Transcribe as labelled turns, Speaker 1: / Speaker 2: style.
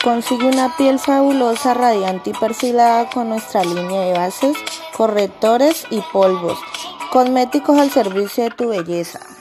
Speaker 1: Consigue una piel fabulosa, radiante y perfilada con nuestra línea de bases, correctores y polvos, cosméticos al servicio de tu belleza.